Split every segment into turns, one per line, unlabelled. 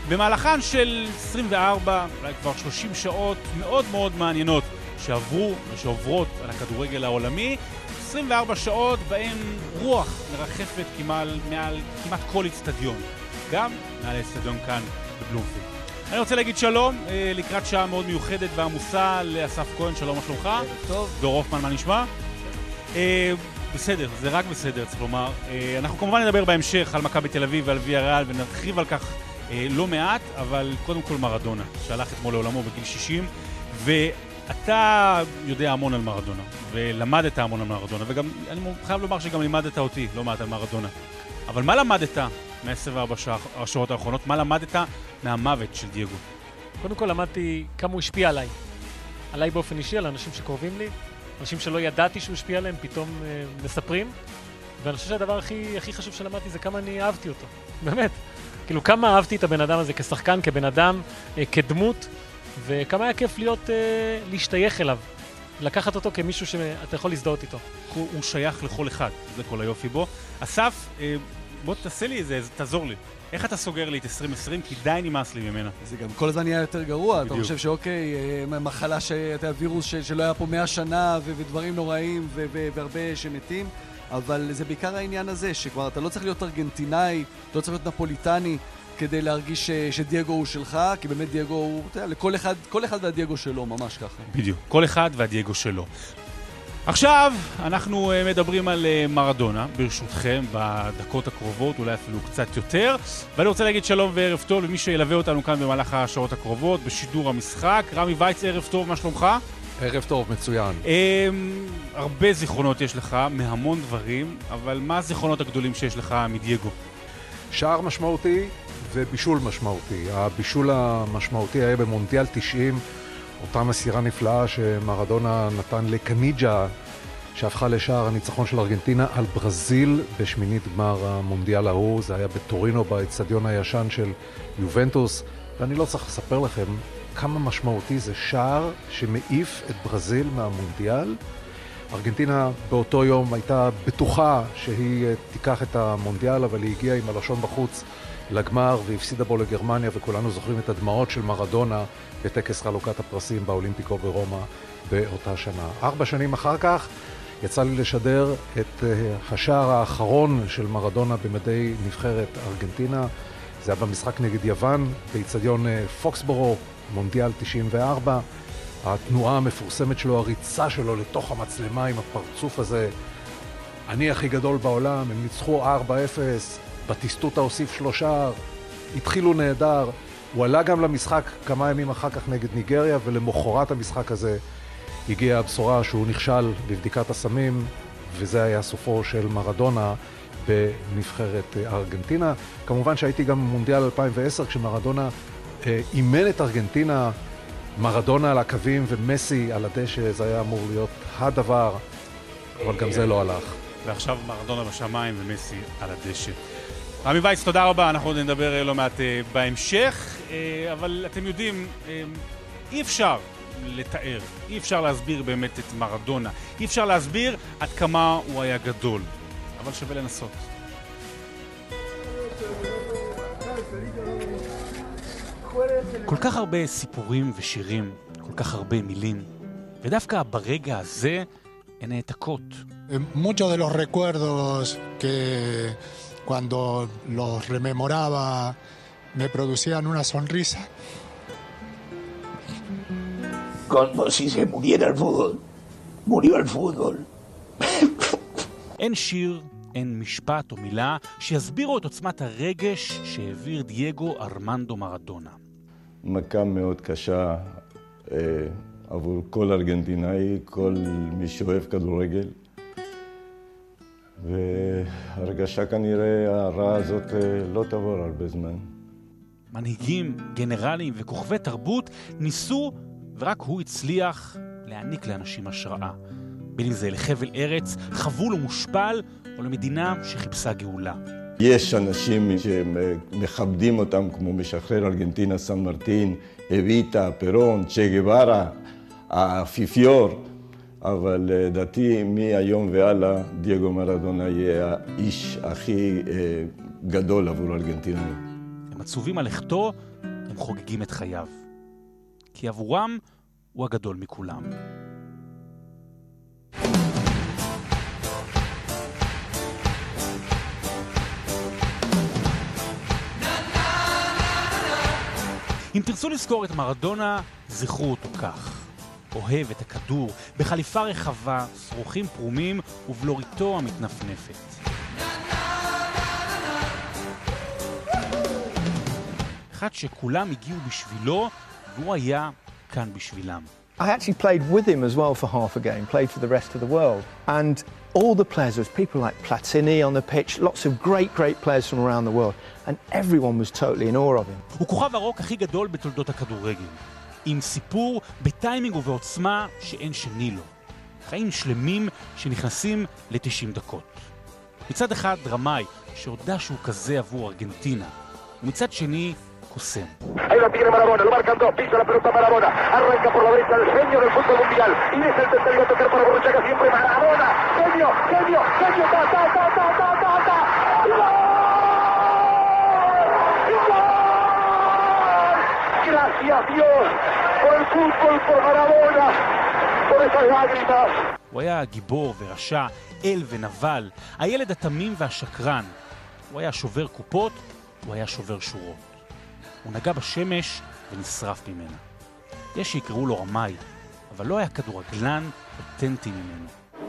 במהלכן של 24, אולי כבר 30 שעות מאוד מאוד מעניינות שעברו ושעוברות על הכדורגל העולמי, 24 שעות בהם רוח מרחפת מעל כמעט כל אצטדיון, גם מעל האצטדיון כאן בבלומפילד. אני רוצה להגיד שלום לקראת שעה מאוד מיוחדת ועמוסה לאסף כהן. שלום, מה שלומך?
טוב.
דור הופמן, מה נשמע? בסדר, זה רק בסדר, צריך לומר. אנחנו כמובן נדבר בהמשך על מכבי תל אביב ועל ויאריאל ונרחיב על כך לא מעט, אבל קודם כל מרדונה, שהלך אתמול לעולמו בגיל 60, ואתה יודע המון על מרדונה, ולמדת המון על מרדונה, וגם אני חייב לומר שגם לימדת אותי לא מעט על מרדונה. אבל מה למדת מה-24 השעות האחרונות? מה למדת מהמוות של דייגו?
קודם כל למדתי כמה הוא השפיע עליי. עליי באופן אישי, על אנשים שקרובים לי, אנשים שלא ידעתי שהוא השפיע עליהם, פתאום מספרים. ואני חושב שהדבר הכי חשוב שלמדתי זה כמה אני אהבתי אותו. באמת. כאילו כמה אהבתי את הבן אדם הזה כשחקן, כבן אדם, כדמות, וכמה היה כיף להשתייך אליו. לקחת אותו כמישהו שאתה יכול להזדהות איתו.
הוא שייך לכל אחד, זה כל היופי בו. אסף, בוא תעשה לי איזה, תעזור לי. איך אתה סוגר לי את 2020? כי די נמאס לי ממנה.
זה גם כל הזמן נהיה יותר גרוע. אתה חושב שאוקיי, מחלה וירוס שלא היה פה 100 שנה ודברים נוראים והרבה שמתים, אבל זה בעיקר העניין הזה, שכבר אתה לא צריך להיות ארגנטינאי, אתה לא צריך להיות נפוליטני כדי להרגיש שדייגו הוא שלך, כי באמת דייגו הוא, אתה יודע, כל אחד והדייגו שלו, ממש ככה.
בדיוק, כל אחד והדייגו שלו. עכשיו אנחנו מדברים על מרדונה, ברשותכם, בדקות הקרובות, אולי אפילו קצת יותר. ואני רוצה להגיד שלום וערב טוב למי שילווה אותנו כאן במהלך השעות הקרובות, בשידור המשחק. רמי וייץ, ערב טוב, מה שלומך?
ערב טוב, מצוין.
הרבה זיכרונות יש לך, מהמון דברים, אבל מה הזיכרונות הגדולים שיש לך מדייגו?
שער משמעותי ובישול משמעותי. הבישול המשמעותי היה במונדיאל 90, אותה מסירה נפלאה שמרדונה נתן לקניג'ה, שהפכה לשער הניצחון של ארגנטינה על ברזיל בשמינית גמר המונדיאל ההוא. זה היה בטורינו, באצטדיון הישן של יובנטוס, ואני לא צריך לספר לכם כמה משמעותי זה שער שמעיף את ברזיל מהמונדיאל. ארגנטינה באותו יום הייתה בטוחה שהיא תיקח את המונדיאל, אבל היא הגיעה עם הלשון בחוץ לגמר והפסידה בו לגרמניה, וכולנו זוכרים את הדמעות של מרדונה בטקס חלוקת הפרסים באולימפיקו ברומא באותה שנה. 4 שנים אחר כך יצא לי לשדר את השער האחרון של מרדונה במדי נבחרת ארגנטינה. זה היה במשחק נגד יוון באצטדיון פוקסבורו, מונדיאל 94. התנועה המפורסמת שלו, הריצה שלו לתוך המצלמה עם הפרצוף הזה, אני הכי גדול בעולם, הם ניצחו 4-0, בטיסטוטה הוסיף 3, התחילו נהדר. הוא עלה גם למשחק כמה ימים אחר כך נגד ניגריה, ולמחרת המשחק הזה הגיעה הבשורה שהוא נכשל בבדיקת הסמים, וזה היה סופו של מרדונה בנבחרת ארגנטינה. כמובן שהייתי גם במונדיאל 2010 כשמרדונה אימן את ארגנטינה, מרדונה על הקווים ומסי על הדשא. זה היה אמור להיות הדבר, אבל גם זה לא הלך.
ועכשיו מרדונה בשמיים ומסי על הדשא. רמי וייץ, תודה רבה, אנחנו עוד נדבר לא מעט בהמשך, אבל אתם יודעים, אי אפשר לתאר, אי אפשר להסביר באמת את מרדונה, אי אפשר להסביר עד כמה הוא היה גדול, אבל שווה לנסות. כל כך הרבה סיפורים ושירים, כל כך הרבה מילים, ודווקא ברגע הזה הן העתקות.
Muchos de los recuerdos que cuando los rememoraba me producían una sonrisa.
Como si se muriera el fútbol. Murió el fútbol.
אין שיר, אין משפט או מילה שיסבירו את עוצמת הרגש שהעביר דייגו ארמנדו מרדונה.
מכה מאוד קשה עבור כל ארגנטינאי, כל מי שאוהב כדורגל. והרגשה כנראה הרעה הזאת לא תעבור הרבה זמן.
מנהיגים, גנרלים וכוכבי תרבות ניסו, ורק הוא הצליח להעניק לאנשים השראה. בין אם זה לחבל ארץ, חבול ומושפל, או למדינה שחיפשה גאולה.
יש אנשים שמכבדים אותם כמו משחרר ארגנטינה, סן מרטין, אביטה, פרון, צ'ה גווארה, האפיפיור, אבל לדעתי מהיום והלאה דייגו מרדונה יהיה האיש הכי גדול עבור ארגנטינאים.
הם עצובים על לכתו, הם חוגגים את חייו. כי עבורם הוא הגדול מכולם. אם תרצו לזכור את מרדונה, זכרו אותו כך. אוהב את הכדור, בחליפה רחבה, שרוכים פרומים ובלוריתו המתנפנפת. אחד שכולם הגיעו בשבילו, והוא היה כאן בשבילם.
I actually played with him as well for half a game, played for the rest of the world. And all the players, there was people like Platini on the pitch, lots of great players from around the world. And everyone was totally in awe of him.
הוא כוכב הרוק הכי גדול בתולדות הכדורגל. עם סיפור בטיימינג ובעוצמה שאין שני לו. חיים שלמים שנכנסים ל-90 דקות. מצד אחד דרמאי שהודע שהוא כזה עבור ארגנטינה. ומצד שני קוסם.
Ahí lo tiene Maradona, lo marcan dos, pisa la pelota Maradona, arranca por la derecha el genio del fútbol mundial, y es el tercero a tocar para Borruchaga, siempre Maradona, genio, ta, ¡y gol! Gracias Dios por el fútbol, por Maradona, por esas lágrimas.
הוא היה גיבור ורשע, אל ונבל, הילד התמים והשקרן. הוא היה שובר קופות, הוא היה שובר שורות. הוא נגע בשמש ונשרף ממנה. יש שיקראו לו רמאי, אבל לא היה כדורגלן אותנטי ממנו.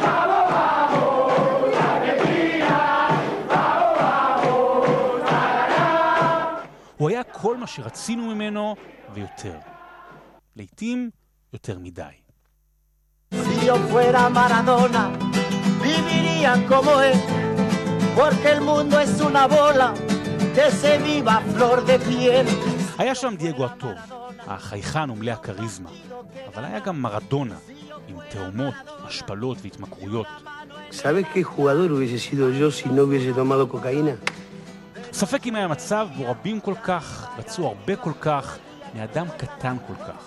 הוא היה כל מה שרצינו ממנו ויותר. לעתים יותר מדי.
Si yo fuera Maradona, viviría como él, porque el mundo es una bola que se viva flor de piel.
היה שם דייגו הטוב, החייכן ומלא הקריזמה, אבל היה גם מרדונה, עם תאומות, השפלות והתמכרויות.
¿Sabes qué jugador hubiese sido yo si no hubiese tomado cocaína?
ספק אם היה מצב בו רבים כל כך, רצו הרבה כל כך, מאדם קטן כל כך.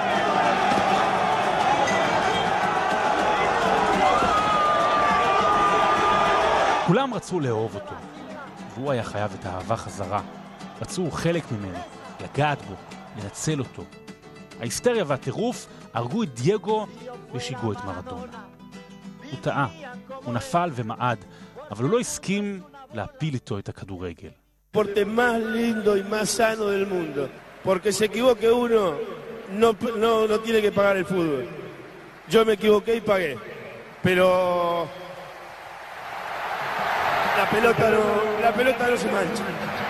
כולם רצו לאהוב אותו, והוא היה חייב את האהבה חזרה. רצו חלק ממנו, לגעת בו, לנצל אותו. ההיסטריה והטירוף הרגו את דייגו ושיגעו את מרדונה. הוא טעה, הוא נפל ומעד, אבל הוא לא הסכים להפיל איתו את הכדורגל.
deporte más lindo y más sano del mundo, porque se equivoque uno, no tiene que pagar el fútbol. Yo me equivoqué y pagué, pero la pelota no se mancha.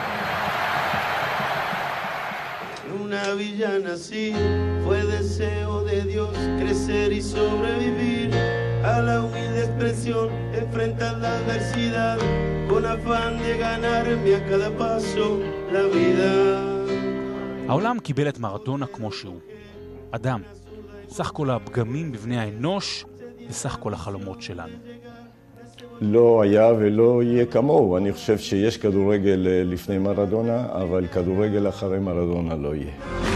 Una villana así fue deseo de Dios, crecer y sobrevivir a la humilde expresión, enfrentar la adversidad con afán de ganarme a cada paso la vida.
העולם קיבל את מרדונה כמו שהוא. אדם, סך כל הפגמים בבני האנוש וסך כל החלומות שלנו.
לא היה ולא יהיה כמוהו. אני חושב שיש כדורגל לפני מרדונה, אבל כדורגל אחרי מרדונה לא יהיה.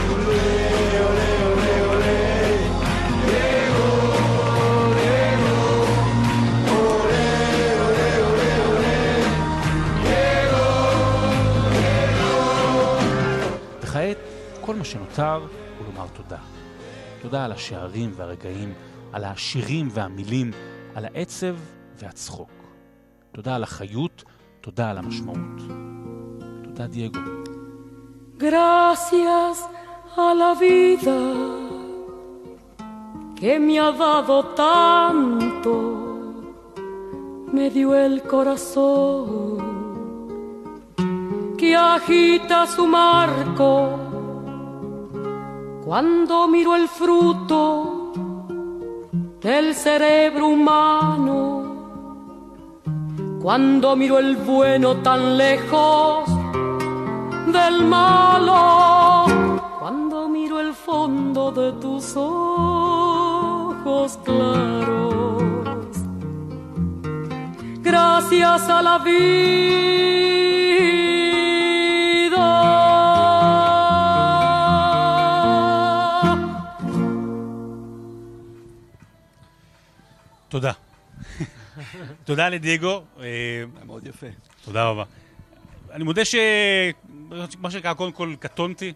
וכעת, כל מה שנותר הוא לומר תודה. תודה על השערים והרגעים, על השירים והמילים, על העצב והצחוק. תודה על החיות, תודה על המשמעות. תודה דייגו.
Gracias a la vida que me ha dado tanto, me dio el corazón que agita su marco cuando miro el fruto del cerebro humano, cuando miro el bueno tan lejos del malo, cuando miro el fondo de tus ojos claros. Gracias a la vida.
תודה. תודה לדייגו.
מאוד יפה.
תודה רבה. אני מודה מה שנקרא, קודם כל קטונתי,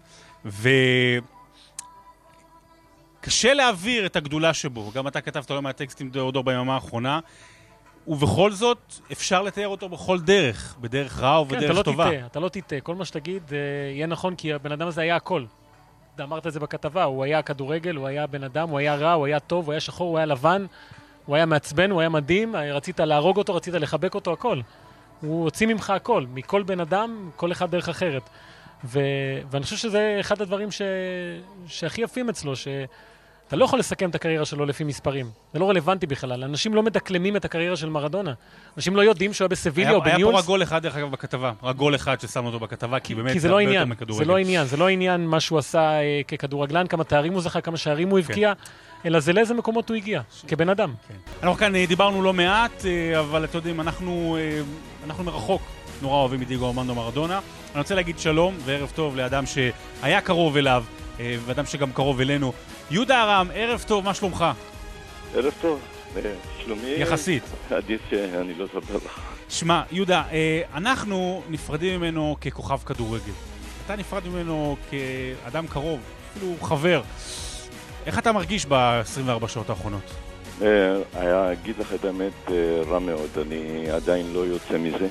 וקשה להעביר את הגדולה שבו. גם אתה כתבת לא מהטקסטים דור ביממה האחרונה, ובכל זאת אפשר לתאר אותו בכל דרך, בדרך רעה ובדרך טובה.
כן, אתה לא תטעה. כל מה שתגיד יהיה נכון, כי הבן אדם הזה היה הכל. אמרת את זה בכתבה, הוא היה כדורגל, הוא היה בן אדם, הוא היה רע, הוא היה טוב, הוא היה שחור, הוא היה לבן, הוא היה מעצבן, הוא היה מדהים, רצית להרוג אותו, רצית לחבק אותו, הכל. הוא הוציא ממך הכל, מכל בן אדם, כל אחד דרך אחרת. ואני חושב שזה אחד הדברים שהכי יפים אצלו, שאתה לא יכול לסכם את הקריירה שלו לפי מספרים. זה לא רלוונטי בכלל. אנשים לא מדקלמים את הקריירה של מרדונה. אנשים לא יודעים שהוא היה בסביליה או בניולס.
היה פה רגול אחד, דרך אגב, בכתבה. רגול אחד ששם אותו בכתבה, כי באמת
זה לא עניין. זה לא עניין מה שהוא עשה ככדורגלן, כמה תארים הוא זכה, כמה שערים הוא הבקיע, אלא זה לאיזה מקומות הוא הגיע, כבן אדם.
אנחנו כאן דיברנו לא מעט, אבל אתם יודעים, אנחנו מרחוק נורא אוהבים את דיגו ארמנדו מרדונה. אני רוצה להגיד שלום וערב טוב לאדם שהיה קרוב אליו, ואדם שגם קרוב אלינו. יהודה ארם, ערב טוב, מה שלומך?
ערב טוב, שלומי...
יחסית.
עדיף שאני לא אספר לך.
שמע, יהודה, אנחנו נפרדים ממנו ככוכב כדורגל. אתה נפרד ממנו כאדם קרוב, אפילו חבר. איך אתה מרגיש ב-24 שעות האחרונות?
אגיד לך את האמת רע מאוד, אני עדיין לא יוצא מזה.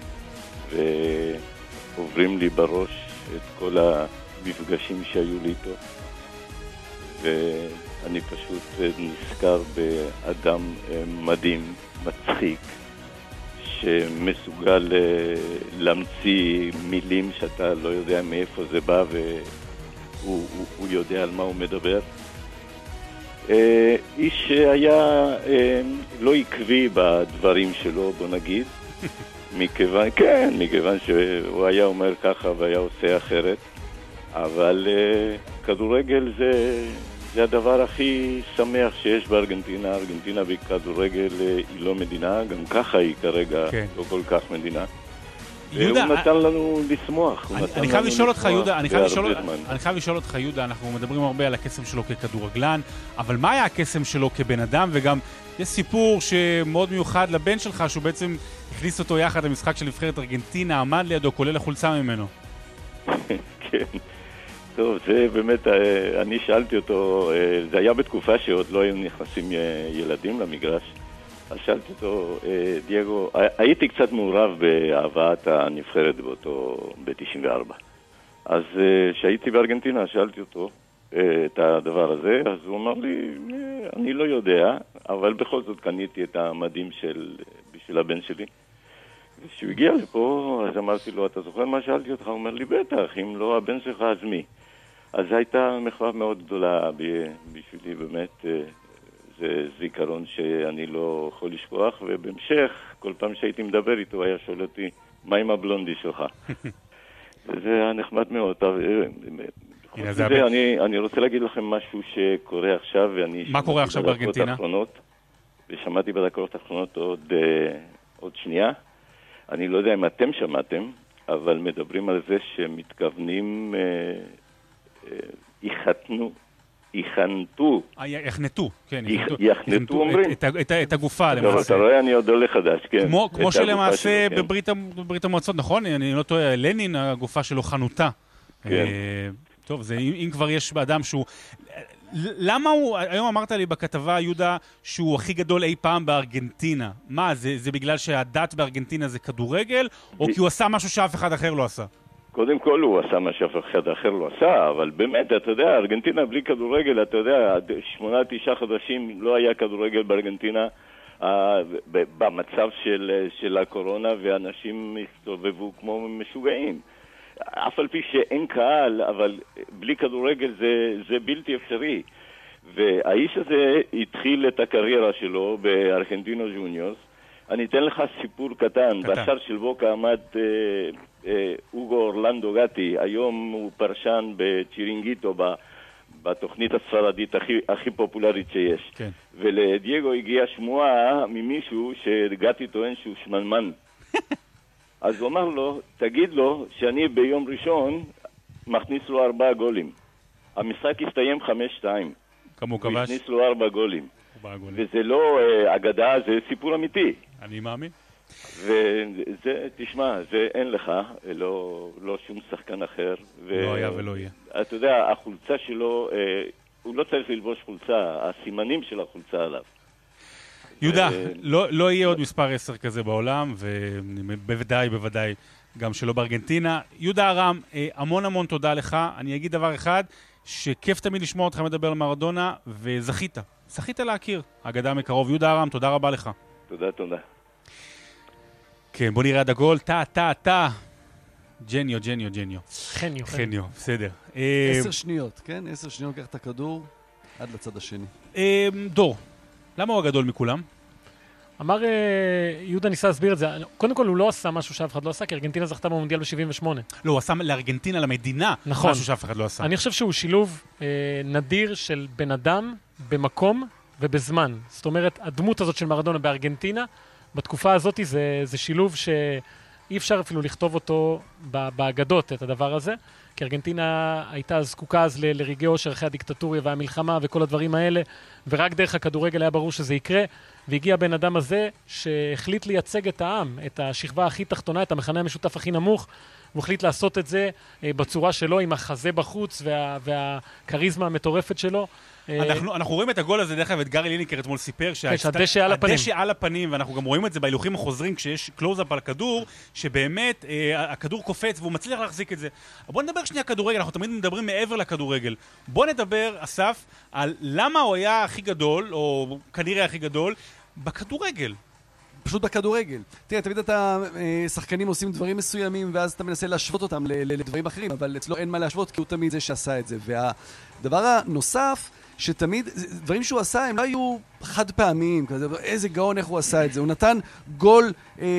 ועוברים לי בראש את כל המפגשים שהיו לי איתו. ואני פשוט נזכר באדם מדהים, מצחיק, שמסוגל להמציא מילים שאתה לא יודע מאיפה זה בא, והוא יודע על מה הוא מדבר. איש שהיה לא עקבי בדברים שלו, בוא נגיד, מכיוון שהוא היה אומר ככה והיה עושה אחרת, אבל כדורגל זה הדבר הכי שמח שיש בארגנטינה. ארגנטינה בכדורגל היא לא מדינה, גם ככה היא כרגע לא כל כך מדינה. והוא נתן לנו לשמוח.
אני חייב לשאול אותך, יהודה, אנחנו מדברים הרבה על הקסם שלו ככדורגלן, אבל מה היה הקסם שלו כבן אדם? וגם יש סיפור שמאוד מיוחד לבן שלך, שהוא בעצם הכניס אותו יחד למשחק של נבחרת ארגנטינה, עמד לידו, כולל החולצה ממנו.
כן. טוב, זה באמת, אני שאלתי אותו, זה היה בתקופה שעוד לא היו נכנסים ילדים למגרש, אז שאלתי אותו, דייגו, הייתי קצת מעורב בהבאת הנבחרת ב-94. אז כשהייתי בארגנטינה, שאלתי אותו את הדבר הזה, אז הוא אמר לי, אני לא יודע, אבל בכל זאת קניתי את המדים בשביל הבן שלי. כשהוא הגיע לפה, אז אמרתי לו, אתה זוכר מה שאלתי אותך? הוא אומר לי, בטח, אם לא הבן שלך, אז מי? אז הייתה מחווה מאוד גדולה בשבילי, באמת, זה זיכרון שאני לא יכול לשכוח, ובהמשך, כל פעם שהייתי מדבר איתו, היה שואל אותי, מה עם הבלונדי שלך? וזה היה נחמד מאוד. אני רוצה להגיד לכם משהו שקורה עכשיו,
מה קורה עכשיו בארגנטינה?
ושמעתי בדקות האחרונות עוד שנייה. אני לא יודע אם אתם שמעתם, אבל מדברים על זה שמתכוונים יחנתו, אומרים.
את הגופה, למעשה.
אתה רואה, אני עוד עולה חדש, כן.
כמו שלמעשה בברית המועצות, נכון? אני לא טועה, לנין, הגופה שלו חנותה.
כן.
טוב, אם כבר יש באדם שהוא... למה הוא, היום אמרת לי בכתבה, יהודה, שהוא הכי גדול אי פעם בארגנטינה? מה, זה בגלל שהדת בארגנטינה זה כדורגל, או כי הוא עשה משהו שאף אחד אחר לא עשה?
קודם כל הוא עשה מה שאף אחד אחר לא עשה, אבל באמת, אתה יודע, ארגנטינה בלי כדורגל, אתה יודע, 8-9 חודשים לא היה כדורגל בארגנטינה במצב של הקורונה, ואנשים הסתובבו כמו משוגעים. אף על פי שאין קהל, אבל בלי כדורגל זה בלתי אפשרי. והאיש הזה התחיל את הקריירה שלו בארגנטינו ג'וניורס. אני אתן לך סיפור קטן. בשער של בוקה עמד אוגו אורלנדו גטי. היום הוא פרשן בצ'ירינגיטו, בתוכנית הספרדית הכי פופולרית שיש. כן. ולדייגו הגיעה שמועה ממישהו שגטי טוען שהוא שמנמן. אז הוא אמר לו, תגיד לו שאני ביום ראשון מכניס לו 4 גולים. המשחק הסתיים 5-2.
כמה הוא כבש?
הוא הכניס לו 4 גולים. וזה לא אגדה, זה סיפור אמיתי.
אני מאמין.
וזה, תשמע, זה אין לך, לא שום שחקן אחר.
לא היה ולא יהיה.
אתה יודע, החולצה שלו, הוא לא צריך ללבוש חולצה, הסימנים של החולצה עליו.
יהודה, לא יהיה עוד מספר 10 כזה בעולם, ובוודאי גם שלא בארגנטינה. יהודה ארם, המון תודה לך. אני אגיד דבר אחד, שכיף תמיד לשמוע אותך מדבר על מרדונה, וזכית. זכית להכיר, אגדה מקרוב. יהודה ארם, תודה רבה לך.
תודה.
כן, בוא נראה עד הגול. טה. ג'ניו. חניו, בסדר.
10 שניות, כן? 10 שניות, קח את הכדור עד לצד השני.
דור, למה הוא הגדול מכולם?
אמר, יהודה ניסה להסביר את זה. קודם כל, הוא לא עשה משהו שאף אחד לא עשה, כי ארגנטינה זכתה במונדיאל ב-78.
לא, הוא עשה לארגנטינה, למדינה,
נכון.
משהו שאף אחד לא עשה.
אני חושב שהוא שילוב נדיר של בן אדם במקום ובזמן. זאת אומרת, הדמות הזאת של מרדונה בארגנטינה, בתקופה הזאת זה שילוב שאי אפשר אפילו לכתוב אותו באגדות, את הדבר הזה. כי ארגנטינה הייתה זקוקה אז לרגעי אושר אחרי הדיקטטוריה והמלחמה וכל הדברים האלה, ורק דרך הכדורגל היה ברור שזה יקרה, והגיע הבן אדם הזה שהחליט לייצג את העם, את השכבה הכי תחתונה, את המכנה המשותף הכי נמוך, הוא החליט לעשות את זה בצורה שלו, עם החזה בחוץ והקריזמה המטורפת שלו.
אנחנו רואים את הגול הזה, דרך אגב, את גארי ליניקר אתמול סיפר
שהדשא על הפנים,
ואנחנו גם רואים את זה בהילוכים החוזרים כשיש קלוז-אפ על הכדור, שבאמת הכדור קופץ והוא מצליח להחזיק את זה. בוא נדבר שנייה כדורגל, אנחנו תמיד מדברים מעבר לכדורגל. בוא נדבר, אסף, על למה הוא היה הכי גדול, או כנראה הכי גדול, בכדורגל.
פשוט בכדורגל. תראה, תמיד אתה, שחקנים עושים דברים מסוימים, ואז אתה מנסה להשוות אותם לדברים אחרים, אבל אצלו אין מה להשוות, כי הוא תמיד זה שעשה את זה. והדבר הנוסף, שתמיד, דברים שהוא עשה, הם לא היו חד פעמיים, כזה, איזה גאון איך הוא עשה את זה. הוא נתן גול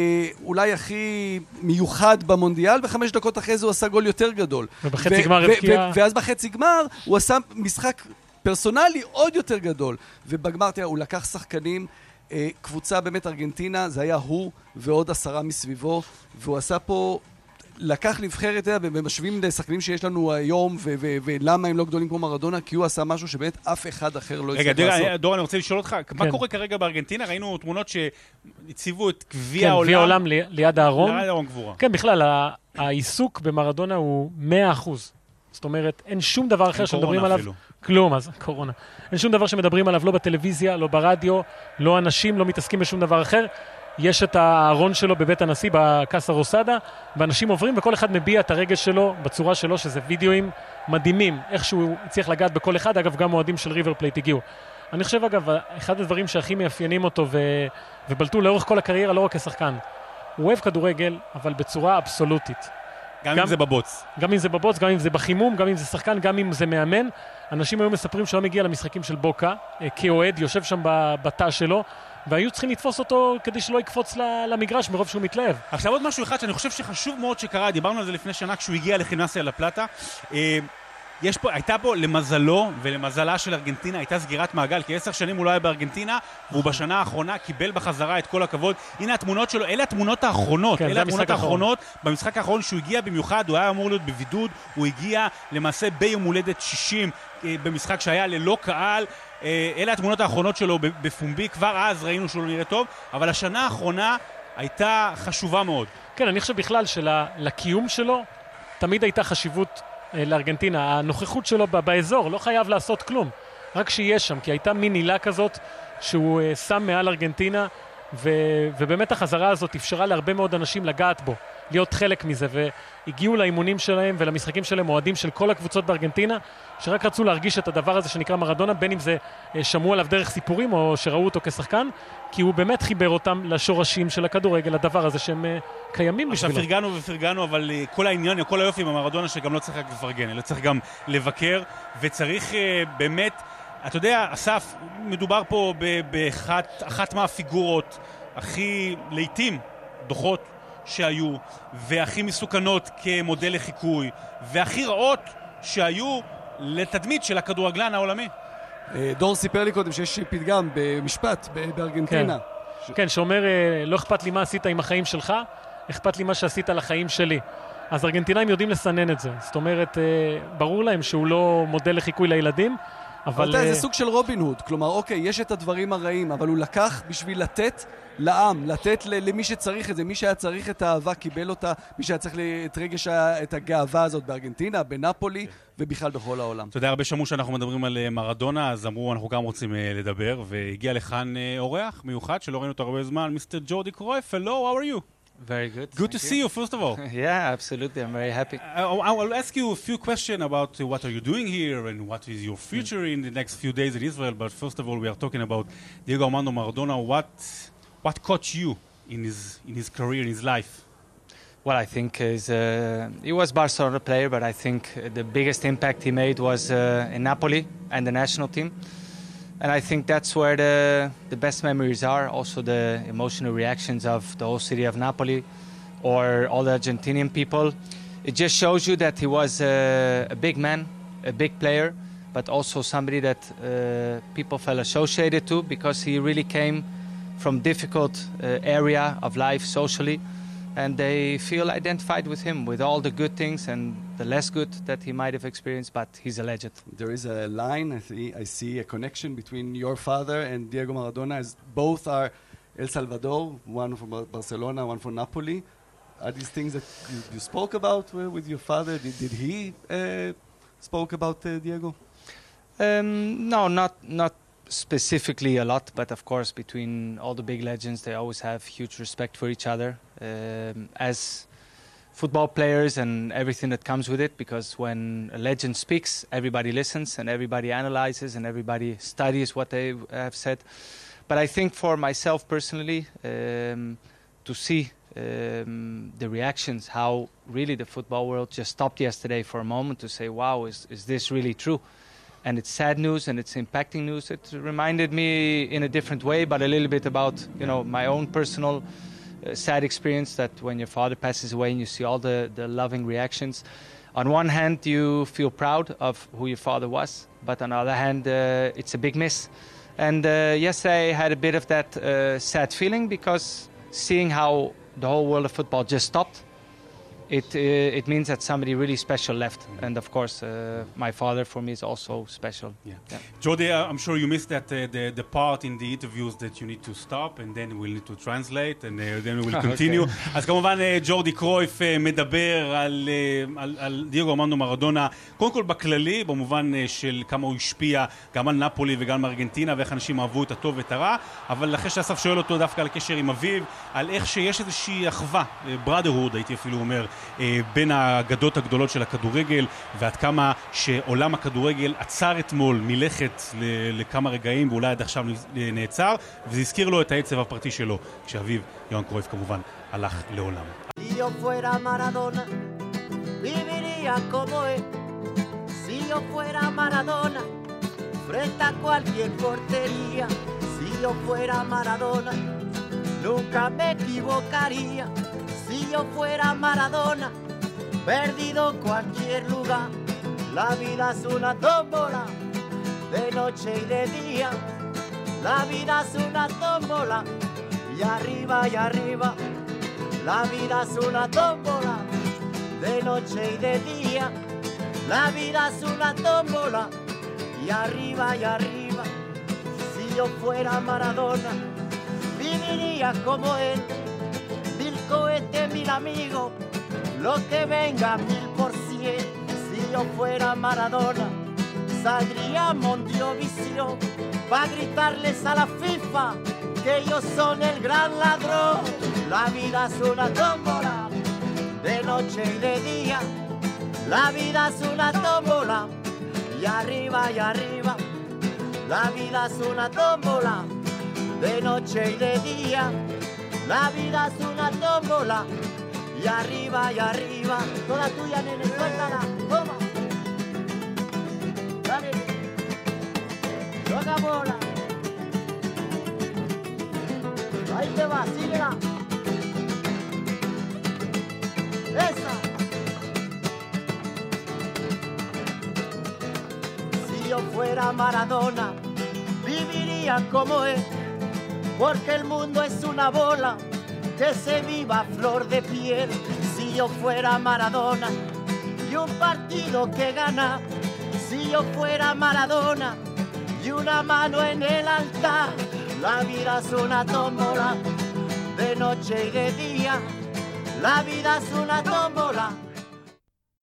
אולי הכי מיוחד במונדיאל, ו5 דקות אחרי זה הוא עשה גול יותר גדול.
ובחצי גמר הבקיע...
ואז בחצי גמר הוא עשה משחק פרסונלי עוד יותר גדול. ובגמר, תראה, הוא לקח שחקנים, קבוצה באמת ארגנטינה, זה היה הוא ועוד 10 מסביבו, והוא עשה פה, לקח נבחרת, ומשווים לשחקנים שיש לנו היום, ולמה הם לא גדולים כמו מרדונה, כי הוא עשה משהו שבאמת אף אחד אחר לא יצטרך לעשות.
רגע, דור, אני רוצה לשאול אותך, מה קורה כרגע בארגנטינה? ראינו תמונות שהציבו את גביע העולם.
גביע העולם ליד הארון.
ליד הארון גבורה.
כן, בכלל, העיסוק במרדונה הוא 100%. זאת אומרת, אין שום דבר אחר שמדברים עליו. כלום, אז קורונה. אין שום דבר שמדברים עליו, לא בטלוויזיה, לא ברדיו, לא אנשים, לא מתעסקים בשום דבר אחר. יש את הארון שלו בבית הנשיא, בקאסה רוסדה, ואנשים עוברים, וכל אחד מביע את הרגש שלו בצורה שלו, שזה וידאוים מדהימים, איך שהוא הצליח לגעת בכל אחד. אגב, גם מועדים של ריבר פלייט הגיעו. אני חושב, אגב, אחד הדברים שהכי מאפיינים אותו ובלטו לאורך כל הקריירה, לא רק כשחקן. הוא אוהב כדורגל, אבל בצורה אבסולוטית.
גם אם זה בבוץ.
גם אם זה בבוץ, גם אם זה בחימום, גם אם זה שחקן, גם אם זה מאמן. אנשים היו מספרים שהוא מגיע למשחקים של בוקה, כאוהד, יושב שם בתא שלו, והיו צריכים לתפוס אותו כדי שלא יקפוץ למגרש מרוב שהוא מתלהב.
עכשיו עוד משהו אחד שאני חושב שחשוב מאוד שקרה, דיברנו על זה לפני שנה כשהוא הגיע לכינסיה לפלטה. הייתה פה למזלו ולמזלה של ארגנטינה, הייתה סגירת מעגל, כי 10 שנים הוא לא היה בארגנטינה, והוא בשנה האחרונה קיבל בחזרה את כל הכבוד. הנה התמונות שלו, אלה התמונות האחרונות,
כן,
אלה התמונות האחרונות. במשחק האחרון שהוא הגיע במיוחד, הוא היה אמור להיות בבידוד, הוא הגיע למעשה ביום הולדת 60, במשחק שהיה ללא קהל. אלה התמונות האחרונות שלו בפומבי, כבר אז ראינו שהוא לא נראה טוב, אבל השנה האחרונה הייתה חשובה מאוד.
כן, אני חושב בכלל שלקיום שלו תמיד הייתה חשיבות לארגנטינה. הנוכחות שלו באזור לא חייב לעשות כלום, רק שיש שם, כי הייתה מין הילה כזאת שהוא שם מעל ארגנטינה, ובאמת החזרה הזאת אפשרה להרבה מאוד אנשים לגעת בו, להיות חלק מזה, והגיעו לאימונים שלהם ולמשחקים שלהם מועדים של כל הקבוצות בארגנטינה, שרק רצו להרגיש את הדבר הזה שנקרא מרדונה, בין אם זה שמעו עליו דרך סיפורים או שראו אותו כשחקן, כי הוא באמת חיבר אותם לשורשים של הכדורגל, לדבר הזה שהם קיימים בשבילו.
עכשיו פרגנו, אבל כל העניין, כל היופי במרדונה שגם לא צריך רק לפרגן, אלא צריך גם לבקר, וצריך באמת, אתה יודע, אסף, מדובר פה באחת מהפיגורות הכי לעתים דוחות שהיו, והכי מסוכנות כמודל לחיקוי, והכי רעות שהיו לתדמית של הכדורגלן העולמי.
דור סיפר לי קודם שיש פתגם במשפט בארגנטינה.
כן, שאומר, לא אכפת לי מה עשית עם החיים שלך, אכפת לי מה שעשית לחיים שלי. אז ארגנטינאים יודעים לסנן את זה. זאת אומרת, ברור להם שהוא לא מודל לחיקוי לילדים,
אבל זה סוג של רובין הוד, כלומר, אוקיי, יש את הדברים הרעים, אבל הוא לקח בשביל לתת לעם, לתת למי שצריך את זה, מי שהיה צריך את האהבה קיבל אותה, מי שהיה צריך את רגש, את הגאווה הזאת בארגנטינה, בנפולי ובכלל בכל העולם.
אתה יודע, הרבה שמעו שאנחנו מדברים על מרדונה, אז אמרו, אנחנו גם רוצים לדבר, והגיע לכאן אורח מיוחד שלא ראינו אותו הרבה זמן, מיסטר ג'ורדי קרויף. Hello, how are you?
Very good.
Good to see you, first of all.
Yeah, absolutely. I'm very happy.
I will ask you a few questions about what are you doing here and what is your future in the next few days in Israel. But first of all, we are talking about Diego Armando Maradona. What caught you in his career, in his life?
Well, I think he was Barcelona player, but I think the biggest impact he made was in Napoli and the national team. And I think that's where the best memories are, also the emotional reactions of the whole city of Napoli or all the Argentinian people. It just shows you that he was a big man, a big player, but also somebody that people felt associated to because he really came from difficult area of life socially. And they feel identified with him, with all the good things and the less good that he might have experienced, but he's a legend.
There is a line, I see a connection between your father and Diego Maradona, as both are El Salvador, one from Barcelona, one from Napoli. Are these things that you spoke about with your father? Did he spoke about Diego?
No, not specifically a lot, but of course between all the big legends they always have huge respect for each other as football players and everything that comes with it, because when a legend speaks everybody listens and everybody analyzes and everybody studies what they have said. But I think for myself personally to see the reactions, how really the football world just stopped yesterday for a moment to say, wow, is this really true? And it's sad news and it's impacting news. It reminded me in a different way, but a little bit about, you know, my own personal sad experience that when your father passes away and you see all the loving reactions. On one hand, you feel proud of who your father was, but on the other hand, it's a big miss. And yesterday I had a bit of that sad feeling because seeing how the whole world of football just stopped, it means that somebody really special left. And of course, my father for me is also special.
Yeah. Jordi, I'm sure you missed that the part in the interviews that you need to stop and then we'll need to translate and then we will continue. אז כמובן ג'ורדי קרויף מדבר על דיאגו ארמנדו מרדונה, קודם כל בכללי, במובן של כמה הוא השפיע גם על נפולי וגם על ארגנטינה ואיך אנשים אהבו את הטוב ואת הרע, אבל אחרי שאסף שואל אותו דווקא על הקשר עם אביו, על איך שיש איזושהי אחווה, brotherhood הייתי אפילו אומר, בין האגדות הגדולות של הכדורגל, ועד כמה שעולם הכדורגל עצר אתמול מלכת לכמה רגעים, ואולי עד עכשיו נעצר, וזה הזכיר לו את העצב הפרטי שלו, כשאביו, יוהאן קרויף כמובן, הלך לעולם.
Si yo fuera Maradona, viviría como él. Si yo fuera Maradona, frente a cualquier portería. Si yo fuera Maradona, nunca me equivocaría. Si yo fuera Maradona, perdido en cualquier lugar. La vida es una tómbola, de noche y de día. La vida es una tómbola, y arriba y arriba. La vida es una tómbola, de noche y de día. La vida es una tómbola, y arriba y arriba. Si yo fuera Maradona, viviría como él. Mil cohetes, mil amigos, lo que venga 1000%. Si yo fuera Maradona, saldría a Mondovisión para gritarles a la FIFA que ellos son el gran ladrón. La vida es una tómbola, de noche y de día. La vida es una tómbola, y arriba y arriba. La vida es una tómbola, de noche y de día. La vida es una tómbola, y arriba y arriba. Toda tuya, nene, suéltala, toma. Dale, toca bola. Ahí te va, síguela. Esa. Si yo fuera Maradona, viviría como él. Porque el mundo es una bola que se viva a flor de piel. Si yo fuera Maradona y un partido que gana. Si yo fuera Maradona y una mano en el altar. La vida es una tómbola, de noche y de día. La vida es una tómbola.